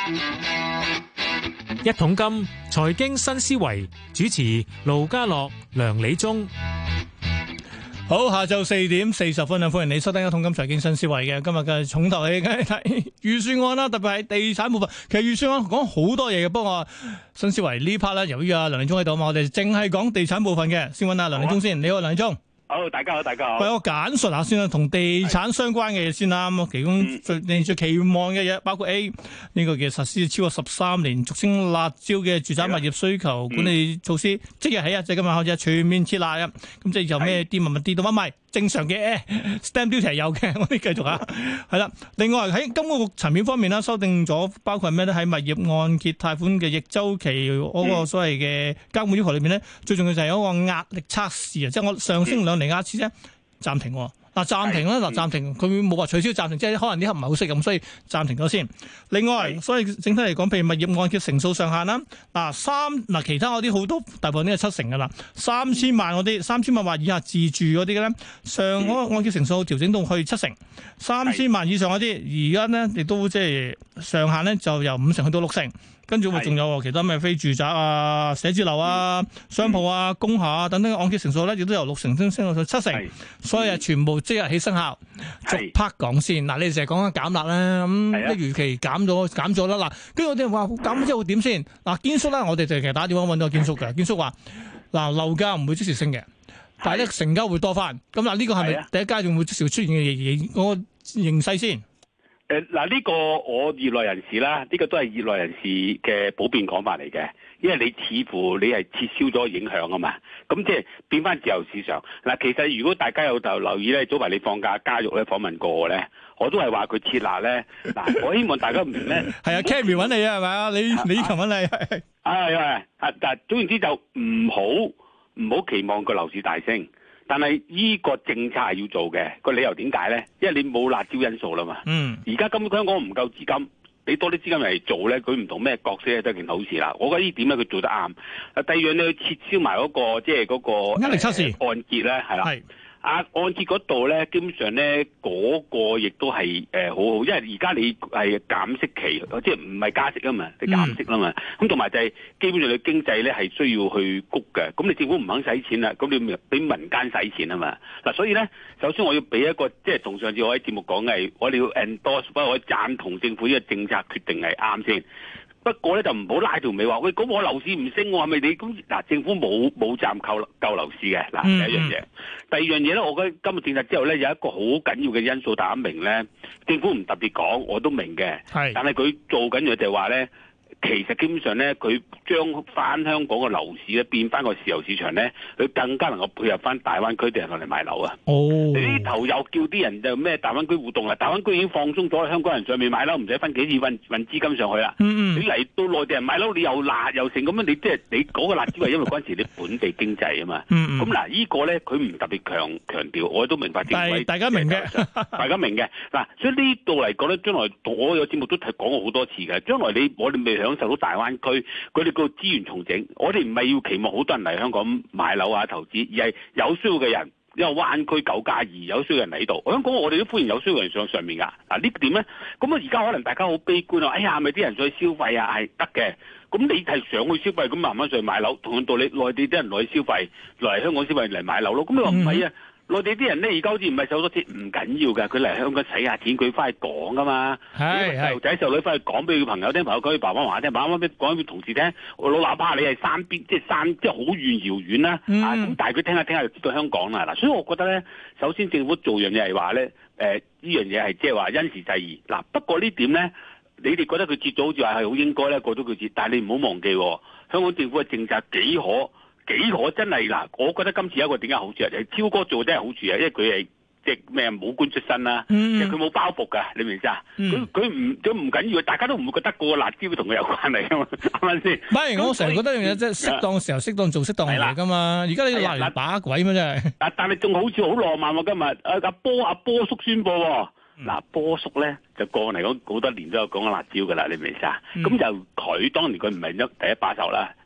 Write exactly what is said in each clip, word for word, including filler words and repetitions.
一桶金財經新思維主持盧家樂、梁理中。 好，下晝四點四十分啊，歡迎你收聽一桶金財經新思維嘅今日嘅重頭戲，梗係睇預算案啦，特別係地產部分。其實預算案講好多嘢嘅，不過新思維呢 part 咧，由於阿梁理中喺度嘛，我哋淨係講地產部分嘅。先揾阿梁理中先，你好，梁理中。 好，大家好，大家好。 喂，我簡述下先啦，同地產相關嘅嘢先啦。咁其中最你最期望嘅嘢，包括 A 呢個嘅實施超過十三年，俗稱辣招嘅住宅物業需求管理措施，即日起啊，即係今日開始全面撤辣啊。咁即係由咩跌物物跌到乜咪？正常嘅 stamp duty 係有嘅，我哋繼續啊。係啦，另外喺金管局層面方面啦，修訂咗包括係咩咧？喺物業按揭貸款嘅逆周期嗰個所謂嘅監管要求裏面咧，最重要就係嗰個壓力測試啊，即係我上升兩厘壓次咧暫停。嗱暫停啦，嗱暫停，佢冇話取消暫停，即係可能呢刻唔係好適咁，所以暫停咗先。另外，所以整體嚟講，譬如物業按揭成數上限啦，嗱三嗱其他嗰啲好多大部分都係七成噶啦，三千萬嗰啲，三千萬或以下自住嗰啲嘅咧，上嗰個按揭成數調整到去七成，三千萬以上嗰啲，而家咧亦都即係上限咧就由五成去到六成。跟住會仲有其他咩非住宅啊、寫字樓啊、商鋪啊、工廈啊等等按揭成數咧，亦都由六成升升到七成，所以啊，全部即日起生效。逐 part 講先，嗱，你哋成日講緊減辣啦，咁一如期減咗減咗啦，嗱，跟住我哋話減咗之後會點先？嗱，堅叔啦，我哋就其實打電話揾到堅叔嘅，堅叔話嗱樓價唔會即時升嘅，但係咧成交會多翻。咁嗱，呢個係咪第一階段會即時出現嘅嘢？嗰個形勢先。 誒嗱，呢個我業內人士啦，呢、這個都係業內人士嘅普遍講法嚟嘅，因為你似乎你係撤銷咗影響啊嘛，咁即係變翻自由市場。嗱，其實如果大家有就留意咧，早排你放假家育咧訪問過我咧，我都係話佢撤辣咧。嗱，我希望大家唔明咧，係啊 ，Cammy 揾你啊，係咪啊？你你琴揾你係係係啊，但係總言之就唔好唔好期望個樓市大升。但係依個政策係要做嘅，個理由點解咧？因為你冇辣招因素啦嘛。嗯。而家根本香港唔夠資金，俾多啲資金嚟做咧，佢唔同咩角色都係件好事啦。我覺得呢點咧佢做得啱。啊，第二樣你去撤銷埋嗰個即係嗰個壓力測試按揭咧，係啦。係。啊，按揭嗰度咧，基本上咧嗰、嗰個亦都係誒、呃、好好，因為而家你係減息期，即係唔係加息啊嘛，你減息啦嘛。咁同埋就係基本上你經濟咧係需要去谷嘅，咁你政府唔肯使錢啦，咁你咪俾民間使錢啊嘛。嗱，所以咧，首先我要俾一個即係同上次我喺節目講嘅，我哋要 endorse，不過我贊同政府呢個政策決定係啱先。不過咧就唔好拉條尾話，喂，咁我樓市唔升，我係咪你咁？嗱，政府冇冇站救救樓市嘅。嗱，第一樣嘢，第二樣嘢咧，我覺得今日政策之後咧有一個好緊要嘅因素，大家明咧，政府唔特別講，我都明嘅，係，但係佢做緊嘅就係話咧。其實基本上咧，佢將翻香港嘅樓市咧變翻個自由市場咧，佢更加能夠配合翻大灣區啲人落嚟買樓啊！哦，你呢頭又叫啲人就咩大灣區互動啦，大灣區已經放鬆咗，香港人上面買樓唔使分幾次運運資金上去啦。嗯嗯，你嚟到內地人買樓，你又辣又成咁樣，你即係你嗰個辣招係因為嗰陣時你本地經濟啊嘛。嗯嗯，咁嗱，呢個咧佢唔特別強強調，我都明白。但係大家明嘅，大家明嘅嗱，所以呢度嚟講咧，將來我有節目都係講過好多次嘅，將來你我哋未享受到大灣區佢哋個資源重整，我哋唔係要期望好多人嚟香港買樓啊投資，而係有需要嘅人，因為灣區九加二有需要嘅人嚟呢度。香港我哋都歡迎有需要嘅人上上面㗎。嗱呢點咧，咁啊而家可能大家好悲觀啊，哎呀係咪啲人上去消費啊？係得嘅，咁你係上去消費，咁慢慢上去買樓，同樣道理，內地啲人來消費，來香港消費嚟買樓咯。咁你話唔係啊？內地啲人咧而家好似唔係受咗錢，唔緊要㗎，佢嚟香港使下錢，佢翻去講㗎嘛。係細路仔細路女翻去講俾佢朋友聽，朋友講俾爸爸媽媽聽，爸爸媽媽講俾同事聽。我老喇叭你係山邊，即係山，即係好遠遙遠啦。嗯、啊，咁但係佢聽下聽下就知道香港啦。嗱，所以我覺得咧，首先政府做樣嘢係話咧，誒、呃、呢樣嘢係即係話因時制宜。嗱，不過呢點咧，你哋覺得佢節咗好似話係好應該咧，過咗佢節，但係你唔好忘記，香港政府嘅政策幾可。幾可真係嗱，我覺得今次有一個點解好處啊？就係超哥做真係好處啊，因為佢係即係咩武官出身啦，即係佢冇包袱㗎，你明唔明啊？佢佢唔佢唔緊要，大家都唔會覺得個辣椒同佢有關係㗎嘛，係咪先？唔係，我成日覺得一樣嘢即係適當時候適當做適當嚟㗎嘛。而家你辣嚟把鬼咩真係？但但係仲好似好浪漫喎，今日阿阿波阿波叔宣佈喎。嗱、嗯，波叔咧就過嚟講好多年都有講緊辣椒噶啦，你明唔明啊？咁、嗯、就佢當年佢唔係一第一把手啦，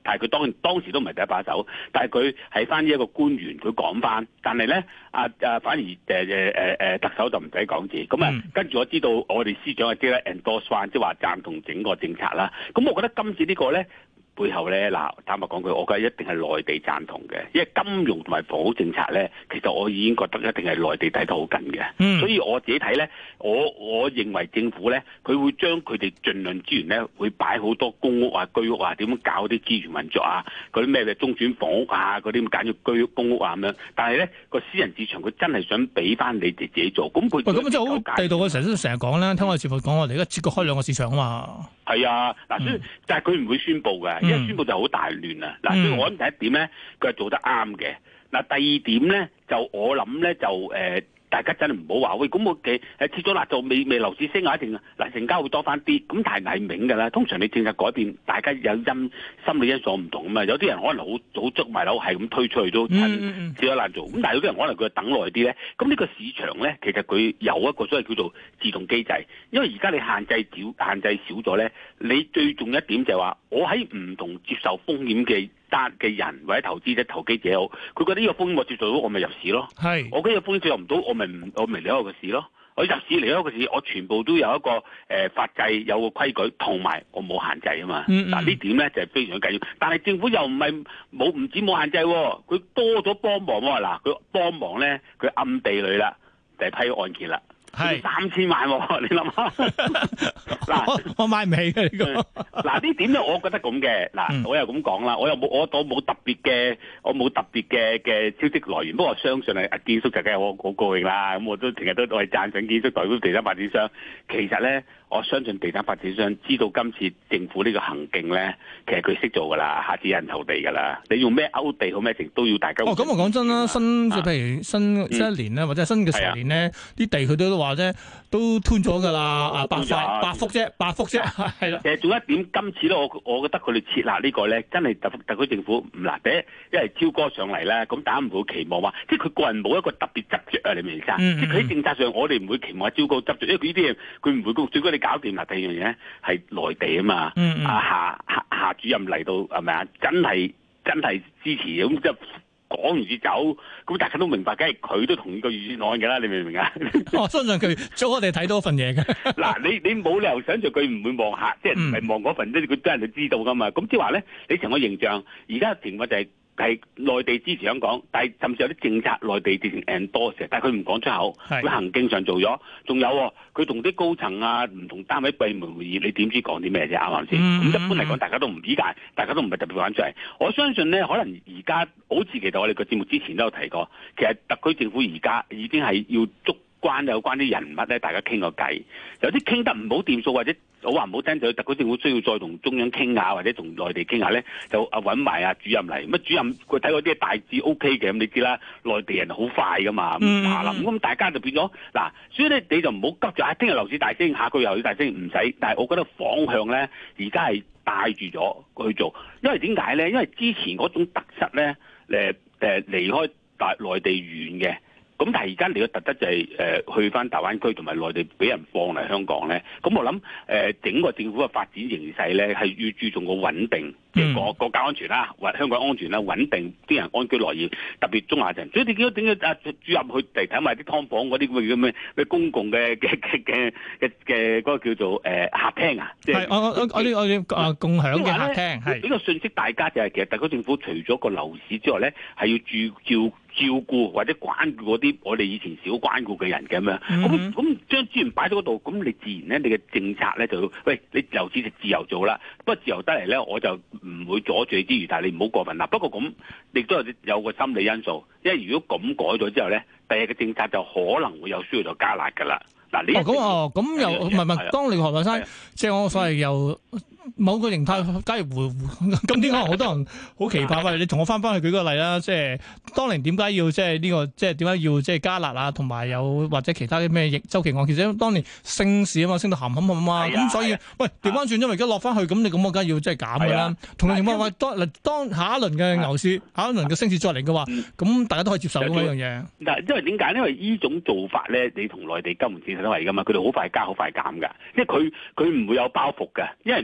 但係佢當當時都唔係第一把手，但係佢喺翻呢一個官員佢講翻，但係咧啊啊反而誒誒誒誒特首就唔使講字，咁啊、嗯、跟住我知道我哋司長係即係 endorse 翻，即係話贊同整個政策啦。咁我覺得今次呢個咧。背後咧嗱，坦白講句，我覺得一定係內地贊同嘅，因為金融同埋房屋政策咧，其實我已經覺得一定係內地睇得好緊嘅。嗯、所以我自己睇咧，我我認為政府咧，佢會將佢哋盡量資源咧，會擺好多公屋啊、居屋啊，點樣搞啲資源運作啊，嗰啲咩嘅中轉房屋啊，嗰啲咁簡約居屋、公屋啊咁樣。但係咧個私人市場佢真係想俾翻你哋自己做，咁佢咁就好地道嘅，成日都成日講啦，聽我哋節目講我哋而家切割開兩個市場啊嘛。係啊，嗱，所以但係佢唔會宣佈嘅。一宣佈就好大亂啊！嗱、嗯，所以我諗第一點咧，佢係做得啱嘅。嗱，第二點咧，就我諗咧就誒。呃大家真係唔好話喂，咁我嘅誒切咗辣就未未樓市升啊，一定嗱成交會多翻啲，咁但係係明㗎啦。通常你政策改變，大家有因心理因素唔同啊嘛。有啲人可能好早捉埋樓，係咁推出去都趁切咗辣做。咁但係有啲人可能佢等耐啲咧。咁呢個市場咧，其實佢有一個所謂叫做自動機制，因為而家你限制少限制少咗咧，你最重要一點就係話，我喺唔同接受風險嘅單嘅人或者投資者、投機者好，佢覺得呢個風險我接受到，我咪入市咯。係是，我覺得呢個風險接受唔到，我咪唔我咪離開個市咯。我入市離開個市，我全部都有一個誒、呃、法制，有個規矩，同埋我冇限制啊嘛。嗱、嗯嗯、呢點咧就係、是、非常緊要。但係政府又唔係冇唔止冇限制，佢多咗幫忙喎。嗱，佢幫忙咧，佢暗地裏啦，就係、批案件啦。係三千萬喎、啊，你諗下嗱， 我買唔起嘅呢個。 嗱呢點咧，我覺得咁嘅。嗱，嗯、我又咁講啦，我又冇我我冇特別嘅，我冇特別嘅嘅消息來源。不過我相信係阿建叔就梗係我好高興啦。咁我都成日都我係讚賞建叔代表地產發展商。其實咧，我相信地產發展商知道今次政府呢個行徑咧，其實佢識做噶啦，下次有人投地噶啦。你用咩勾地好咩成都要大家。 哦，咁我講真啦，新即係譬如新新一年咧，或者新嘅財年咧，啲、啊、地佢都都話啫，都吞咗㗎啦，啊八塊八幅啫，八幅啫，係啦。其實仲有一點，今次咧，我我覺得佢哋設立呢個咧，真係特特區政府唔難。第一，因為超哥上嚟咧，咁大家唔會期望話，即係佢個人冇一個特別執着啊，你明唔明啊？嗯嗯即係佢喺政策上，我哋唔會期望超哥執着，因為佢呢啲嘢佢唔會，最多你搞掂啦。第二樣嘢係內地啊嘛，嗯嗯啊夏夏夏主任嚟到係咪啊？真係真係支持咁即係。講完就走，咁大家都明白，梗係佢都同意個預算案嘅啦，你明唔明啊？我相信佢早我哋睇到份嘢嘅。 嗱，你你冇理由想像佢唔會望下，即係唔係望嗰份，即係佢都人就知道噶嘛。咁即係話咧，你成個形象，而家嘅情況就係、是。係內地支持香港，但係甚至有啲政策內地直情 endorse，但係佢唔講出口，佢是行徑上做咗。仲有佢同啲高層啊，唔同單位閉門會議，你點知講啲咩啫？啱唔啱先？咁、嗯、一般嚟講，大家都唔理解，大家都唔係特別玩出嚟。我相信咧，可能而家好似其實我哋個節目之前都有提過，其實特區政府而家已經係要捉關有關啲人物咧，大家傾個偈，有啲傾得唔好掂數或者。好話唔好聽，就特區政府需要再同中央傾下，或者同內地傾下咧，就啊揾埋啊主任嚟。乜主任佢睇嗰啲大致 O K 嘅，咁你知啦，內地人好快噶嘛，咁下啦，咁大家就變咗嗱，所以咧你就唔好急住啊，聽日樓市大升，下個月樓市大升，唔使。但係我覺得方向咧，而家係帶住咗去做，因為點解咧？因為之前嗰種特質咧，誒誒離開大內地遠嘅。咁但係而家你嘅特質就係、是、誒、呃、去翻大灣區同埋內地俾人放嚟香港咧，咁我諗誒、呃、整個政府嘅發展形勢咧係要注重個穩定，即係國國家安全啦，或香港安全啦，穩定啲人安居樂業，特別中下層。所以你見到點解啊主任去嚟睇埋啲劏房嗰啲咁嘅咩公共嘅嘅嘅嘅嘅嘅嗰個叫做誒、呃、客廳啊？即係我我我啲我啲啊共享嘅客廳係呢個信息，大家就係、是、其實特區政府除咗個樓市之外咧，係要注照。照顧或者關顧嗰啲我哋以前少關顧嘅人嘅咁樣，咁咁將資源擺喺嗰度，咁你自然咧，你嘅政策咧就喂，你樓市就自由做啦。不過自由得嚟咧，我就唔會阻住你之餘，但係你唔好過分啦。不過咁亦都有有個心理因素，因為如果咁改咗之後咧，第日嘅政策就可能會有需要就加辣㗎啦。嗱，你咁哦，咁、哦、又唔係唔係，當你何文生，即係我所謂又。某個形態假如回咁點解好多人好期盼？喂，你同我翻翻去舉個例啦，即係當年點解要即係呢個即係點解要即係加辣啊？同埋有或者其他啲咩週期案？其實當年升市啊嘛，升到冚冚冚啊嘛，咁所以喂調翻轉，因為而家落翻去，咁你咁我梗係要即係減㗎啦。同樣情況，喂當嗱當下一輪嘅牛市、下一輪嘅升市再嚟嘅話，咁大家都可以接受呢樣嘢。 嗱，因為點解？因為呢種做法咧，你同內地金融市場都係㗎嘛，佢哋好快加、好快減㗎，即係佢佢唔會有包袱㗎，因為唔會話。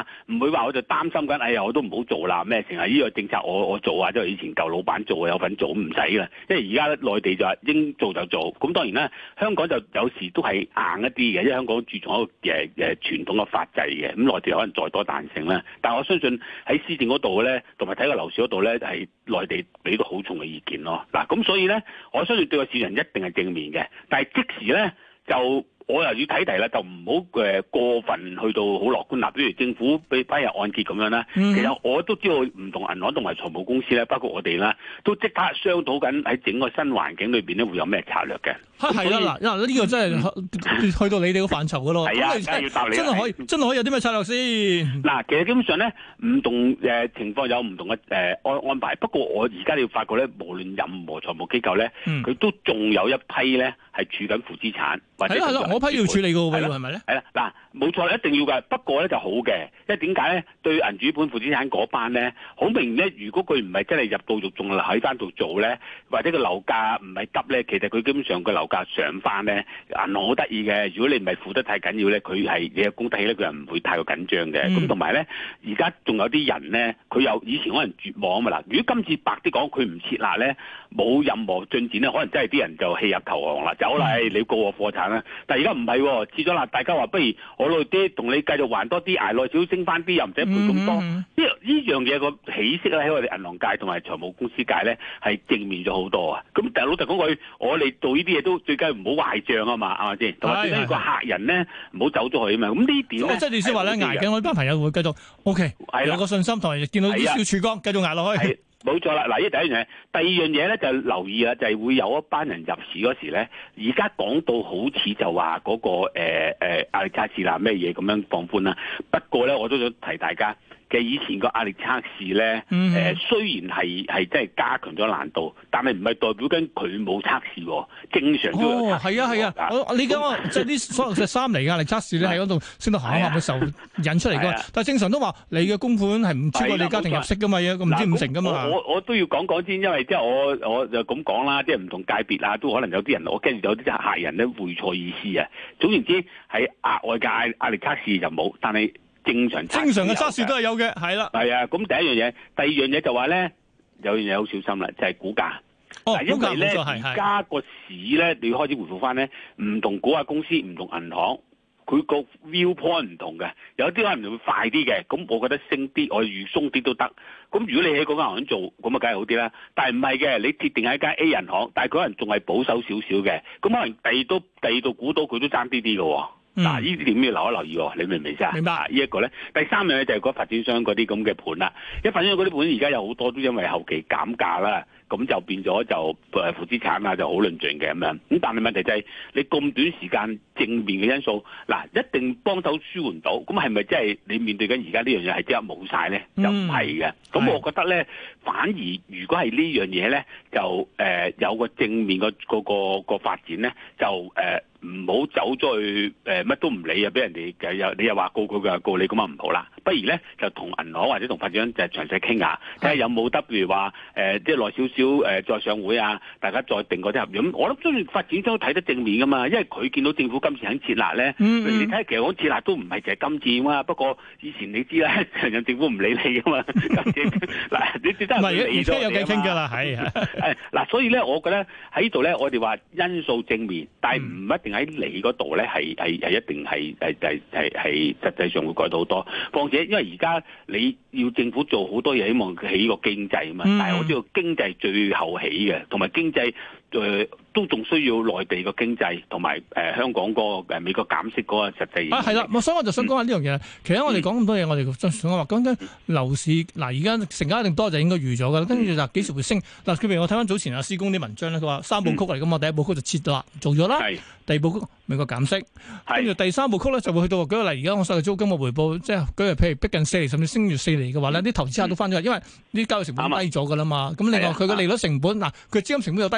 嘛，唔會話我就擔心緊，哎呀我都唔好做啦咩成日呢個政策我我做啊，即係以前舊老闆做有份做唔使啦，因為而家內地就話應做就做，咁當然啦，香港就有時都係硬一啲嘅，因為香港注重一個誒誒傳統嘅法制嘅，咁內地可能再多彈性啦，但係我相信喺施政嗰度咧，同埋睇個樓市嗰度咧，係內地俾到好重嘅意見咯。嗱，咁所以咧，我相信對個市場一定係正面嘅，但係即時咧就。我又要睇題啦，就唔好誒過分去到好樂觀啦。比如政府俾批入按揭咁樣啦，嗯、其實我都知道唔同銀行同埋財務公司咧，包括我哋啦，都即刻商討緊喺整個新環境裏邊咧會有咩策略嘅。 係啦，嗱，呢、呢個真係、嗯、去到你哋個範疇噶咯。係啊，真係要答你。真係可以，真係可以有啲咩策略先？嗱， 其實基本上咧，唔同誒情況有唔同嘅誒安安排。不過我而家你要發覺咧，無論任何財務機構咧，佢、嗯、都仲有一批咧係處緊負資產或者。 我批要處理嘅喎，係咪咧？ 係啦，嗱，冇錯，一定要㗎。不過咧就好嘅，因為點解咧？對銀主盤負資產嗰班咧，好明咧。如果佢唔係真係入到肉，仲喺翻度做咧，或者個樓價唔係急咧，其實佢基本上個樓價上翻咧，銀行好得意嘅。如果你唔係負得太緊要咧，佢係你有供得起咧，佢係唔會太過緊張嘅。咁同埋咧，而家仲有啲人咧，佢有以前可能絕望啊嘛嗱。如果今次白啲講，佢唔設立咧，冇任何進展咧，可能真係啲人就棄入投降啦，走啦，嗯、你告我破產啦。但係而家唔係喎，設咗啦，大家話不如我攞啲同你繼續還多啲，捱耐少少升翻啲，又唔使賠咁多。呢呢樣嘢個起色咧，喺我哋銀行界同埋財務公司界咧係正面咗好多啊！咁但係老實講句，我哋做呢啲嘢都最緊要唔好壞帳啊嘛，係咪先？同埋最緊要個客人咧唔好走咗去啊嘛。咁呢點咧？ 即係你先話咧，捱緊我呢班朋友會繼續 OK，有個信心同埋見到啲小曙光，繼續捱落去。 冇錯啦，嗱，呢第一樣嘢，第二樣嘢咧就留意啦，就係、是、會有一班人入市嗰時咧，而家講到好似就話嗰、那個誒誒壓力測試啦，咩嘢咁樣放寬啦。不過咧，我都想提大家。嘅以前個壓力測試咧，誒、嗯呃、雖然係係真係加強咗難度，但係唔係代表緊佢冇測試喎，正常都有測試。哦，係啊係啊， 我你講即係啲所謂嘅三嚟壓力測試咧，喺嗰度升到下下嘅時候引出嚟㗎嘛。啊、但係正常都話你嘅供款係唔超過你家庭入息㗎嘛，咁唔知五成㗎嘛。 我我都要講講先，因為即係我我就咁講啦，即係唔同界別啊，都可能有啲人我跟住有啲客人咧會錯意思啊。總言之，係額外嘅壓壓力測試就冇，但係。正常正常嘅測試都係有嘅，係啦。 係啊，咁第一樣嘢，第二樣嘢就話咧，有樣嘢好小心啦，就係、是、股價。 哦， 因為咧而家個市咧，你要開始回復翻咧，唔同股價公司、唔同銀行，佢個 view point 唔同嘅，有啲可能會快啲嘅。咁我覺得升啲，我預鬆啲都得。咁如果你喺嗰間銀行做，咁啊梗係好啲啦。但係唔係嘅，你鐵定喺間 A 銀行，但係佢可能仲係保守少少嘅。咁可能第二都第二度估到佢都爭啲啲嘅喎。嗱，呢啲點要留一留意喎？你明唔明先啊？ 明白。 呢一個咧，第三樣嘢就係嗰發展商嗰啲咁嘅盤啦。一發展商嗰啲盤而家有好多都因為後期減價啦，咁就變咗就誒負資產啊，就好論盡嘅咁樣。咁但係問題就係你咁短時間正面嘅因素，嗱一定幫手舒緩到。咁係咪真係你面對緊而家呢樣嘢係即刻冇晒咧？就唔係嘅。咁我覺得咧，反而如果係呢樣嘢咧，就誒、呃、有個正面個嗰個個發展咧，就誒。呃唔好走咗去誒乜、呃、都唔理啊！俾人哋又你又話告佢，佢又告你，咁啊唔好啦。不如咧就同銀行或者同發展商就詳細傾下，睇下有冇得譬如話誒即係耐少少誒再上會啊，大家再定嗰啲合約。咁我諗雖然發展商睇得正面噶嘛，因為佢見到政府今次肯設立咧，嗯嗯你睇其實講設立都唔係淨係今次嘛。不過以前你知啦，成日政府唔理你噶嘛。嗱，你真係唔係而家有偈傾㗎啦，係誒嗱，所以咧，我覺得喺呢度咧，我哋話因素正面，但係唔一定喺你嗰度咧，係係係一定係係係係係實際上會改到好多。況且因為而家你要政府做好多嘢，希望起個經濟啊嘛。嗯、但係我知道經濟最後起嘅，同埋經濟誒、呃、都仲需要內地個經濟同埋誒香港嗰個誒美國減息嗰個實際。 啊，係啦，所以我就想講下呢樣嘢。嗯、其實我哋講咁多嘢，我哋想想話講緊樓市嗱，而家成交一定多就應該預咗㗎啦。跟住就幾時會升嗱？譬如我睇翻早前阿施工啲文章咧，佢話三部曲嚟㗎嘛，第一部曲就切咗啦，做咗啦。係。第二部曲美國減息，跟住第三部曲咧就會去到舉個例，而家我所謂租金嘅回報，即係舉例譬如逼近四厘，甚至升越四厘嘅話咧，啲投資客都翻咗嚟，因為啲交易成本低咗㗎啦嘛。咁另外佢嘅利率成本嗱，佢資金成本又低咗啦嘛。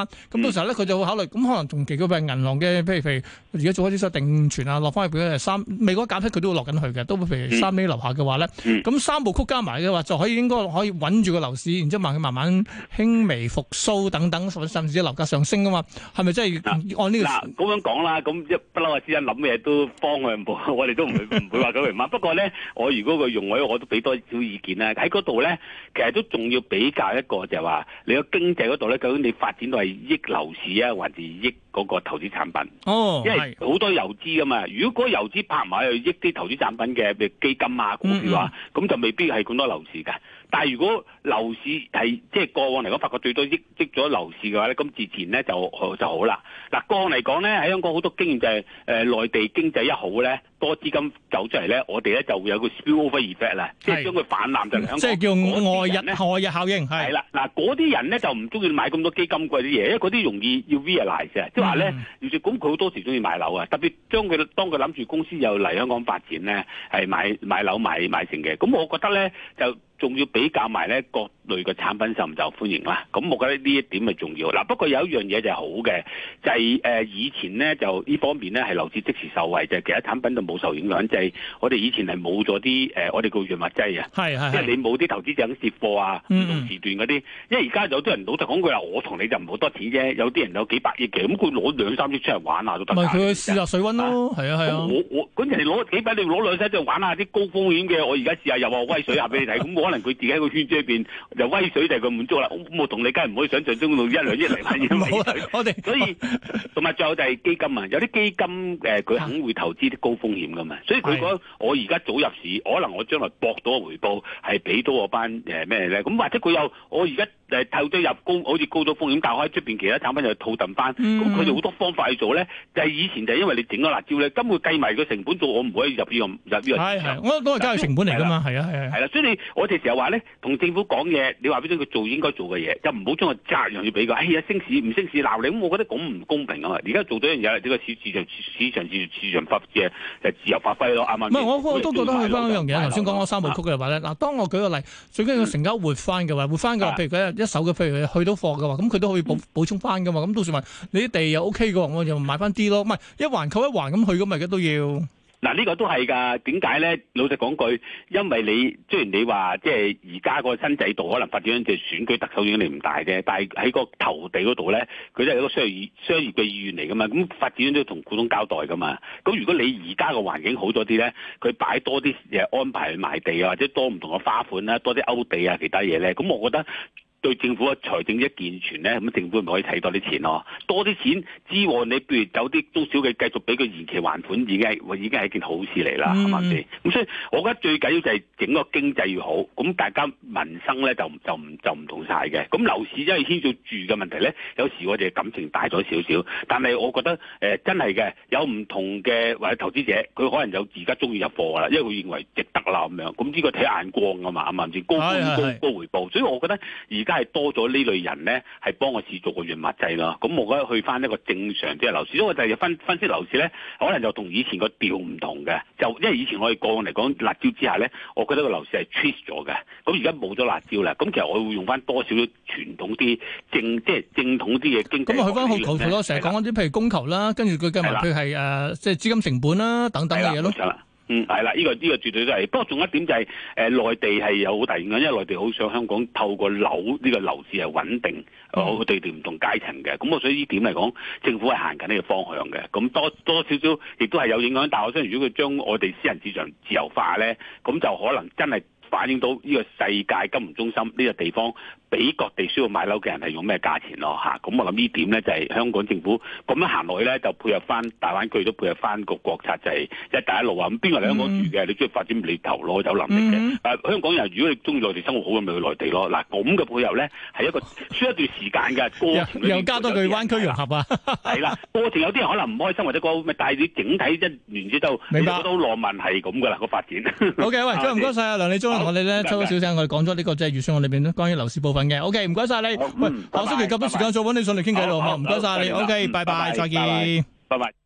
翻，咁到時候咧佢就會考慮，咁可能同其佢譬如銀行嘅，譬如譬如而家做開啲所謂定存啊，落翻去譬如三美國減息佢都會落緊去嘅，都會譬如三厘樓下嘅話咧，咁、嗯、三部曲加埋嘅話就可以應該可以穩住個樓市，然之後慢佢慢慢輕微復甦等等，甚至樓價上升啊嘛，係咪真係按呢、這個？ 嗱咁樣講啦，咁一不嬲啊，私人諗嘅嘢都方向冇，我哋都唔會唔會話九零蚊。不過咧，我如果個用位我都俾多少意見啦。喺嗰度咧，其實都仲要比較一個就係話，你個經濟嗰度咧，究竟你發展到係益樓市啊，還是益嗰個投資產品？哦，因為好多遊資噶嘛。如果嗰個遊資拍埋去益啲投資產品嘅，譬如基金啊、股票啊，咁、嗯嗯、就未必係咁多樓市㗎。但係如果樓市係即係過往嚟講，發覺最多益益咗樓市嘅話咧，咁自然咧就就好啦。嗱，過往嚟講咧，喺香港好多經驗就係、是、誒、呃、內地經濟一好咧，多資金走出嚟咧，我哋咧就會有個 spillover effect 啦，即係將佢泛濫就嚟香港。即係叫外溢外溢效應。係啦，嗱嗰啲人咧就唔中意買咁多基金貴啲嘢，因為嗰啲容易要 realize 嘅，即係話咧，要咁佢好多時中意買樓啊，特別將佢當佢諗住公司又嚟香港發展咧，係買買樓買買成嘅。咁我覺得咧就。仲要比較埋咧各類嘅產品受唔受歡迎啦，咁我覺得呢一點係重要。嗱，不過有一樣嘢就係好嘅，就係、是、誒、呃、以前咧就呢方面咧係樓市即時受惠，就係、是、其他產品就冇受影響。就係、是、我哋以前係冇咗啲誒我哋叫潤滑劑啊，係係，即係你冇啲投資者接貨啊，唔同時段嗰啲。因為而家有啲人老實講句話，我同你就唔好多錢啫，有啲人有幾百億嘅，咁佢攞兩三億出嚟玩下都得。咪佢試下水溫咯，係啊係啊。我我嗰陣時攞幾百，你攞兩三億出嚟玩下啲高風險嘅，我而家試下又話威水下俾你睇，咁可能佢自己喺個圈子裏邊就威水就係佢滿足啦。咁我同你梗係唔可以想象中到一兩億嚟買嘢威水。我哋所以同埋仲有就係基金啊，有啲基金誒佢肯會投資啲高風險噶嘛，所以佢講我而家早入市，可能我將來博到個回報係俾到我班誒咩咧？咁或者佢有我而家誒投咗入高，好似高咗風險，但係喺出邊其他產品又套揼翻，咁佢哋好多方法去做咧。就係以前就係因為你整咗辣椒咧，根本計埋個成本做，我唔可以入呢個入呢個市場。係係，我都係加佢成本嚟噶嘛，係啊係啊。係啦，所以你我哋成日話咧，同政府講嘢，你話俾佢做應該做嘅嘢，就唔好將個責任要俾佢。哎呀，升市唔升市鬧你，咁我覺得咁唔公平啊嘛。而家做咗一樣嘢，呢個市市場市場市市場發嘅就自由發揮咯，啱唔啱？唔係，我我都覺得去翻一樣嘢。頭先講嗰三部曲嘅話咧，嗱，當我舉個例，最緊要成交活翻嘅話，活翻嘅話，譬如佢一手嘅，譬如去到貨嘅話，咁佢都可以補補充翻噶嘛。咁到時問你啲地又 OK 嘅話，我就買翻啲咯。唔係一環扣一環咁去咁咪嘅都要。嗱，呢個都係㗎。點解咧？老實講句，因為你雖然你話即係而家個新制度可能發展緊隻選舉特首影響力唔大啫，但係喺個投地嗰度咧，佢都係一個商業商業嘅意願嚟㗎嘛。咁發展都要同股東交代㗎嘛。咁如果你而家個環境好咗啲咧，佢擺多啲誒安排去賣地啊，或者多唔同嘅花款啦，多啲勾地啊，其他嘢咧，咁我覺得。對政府嘅財政一健全咧，咁政府咪可以睇多啲錢咯，多啲錢支援你，譬如有啲中小嘅繼續俾佢延期還款，已經係已經係一件好事嚟啦，係咪先？咁所以我覺得最緊要就係整個經濟要好，咁大家民生咧就就唔就唔同晒嘅。咁樓市因為牽涉住嘅問題咧，有時我哋感情大咗少少，但係我覺得誒、呃、真係嘅，有唔同嘅或者投資者，佢可能有而家中意入貨啦，因為佢認為值得啦咁樣。咁呢個睇眼光啊嘛，啱唔啱先？高高高回報，所以我覺得而家係多咗呢類人咧，係幫我試做個潤滑劑咯。咁我覺得去翻一個正常啲嘅樓市，因為就係分分析樓市咧，可能就同以前個調唔同嘅。就因為以前我哋過往嚟講辣椒之下咧，我覺得個樓市係 twist 咗嘅。咁而家冇咗辣椒啦，咁其實我會用翻多少傳統啲正即係正統啲嘅經濟。咁啊，去翻好求其咯，成日講嗰啲譬如供求啦，跟住佢計埋佢係誒即係資金成本啦等等嘅嘢咯。嗯，係啦，呢、這個呢、這個絕對都係。不過仲有一點就係、是，誒、呃、內地係有好大影響，因為內地好想香港透過樓呢、這個樓市係穩定，我對住唔同階層嘅。咁我所以呢點嚟講，政府係行緊呢個方向嘅。咁多多少少亦都係有影響。但係我相信，如果佢將我哋私人市場自由化咧，咁就可能真係反映到呢個世界金融中心呢個地方，俾各地需要買樓嘅人係用咩價錢咯嚇？咁我諗呢點咧就係、是、香港政府咁樣行落去咧，就配合翻大灣區都配合翻個國策，就係一帶一路啊！咁邊個嚟香港住嘅？你中意發展你投咯，有能力嘅。誒、嗯啊，香港人如果你中意內地生活好，咁咪去內地咯。嗱，咁嘅配合咧係一個需要一段時間嘅過程。又加多句灣區融合啊！係啦，過程有啲人可能唔開心或者個咩，但係你整體一完之後，明白都浪漫係咁噶啦個發展。好嘅，喂，唔該晒啊，梁理中同我哋咧抽咗少聲，我哋講咗呢個即係預算案裏邊咧關於樓市部分嘅。OK，唔該晒你。喂，下星期夾多時間再揾你上嚟傾偈咯，好唔該晒你。OK，拜拜，再見。拜拜。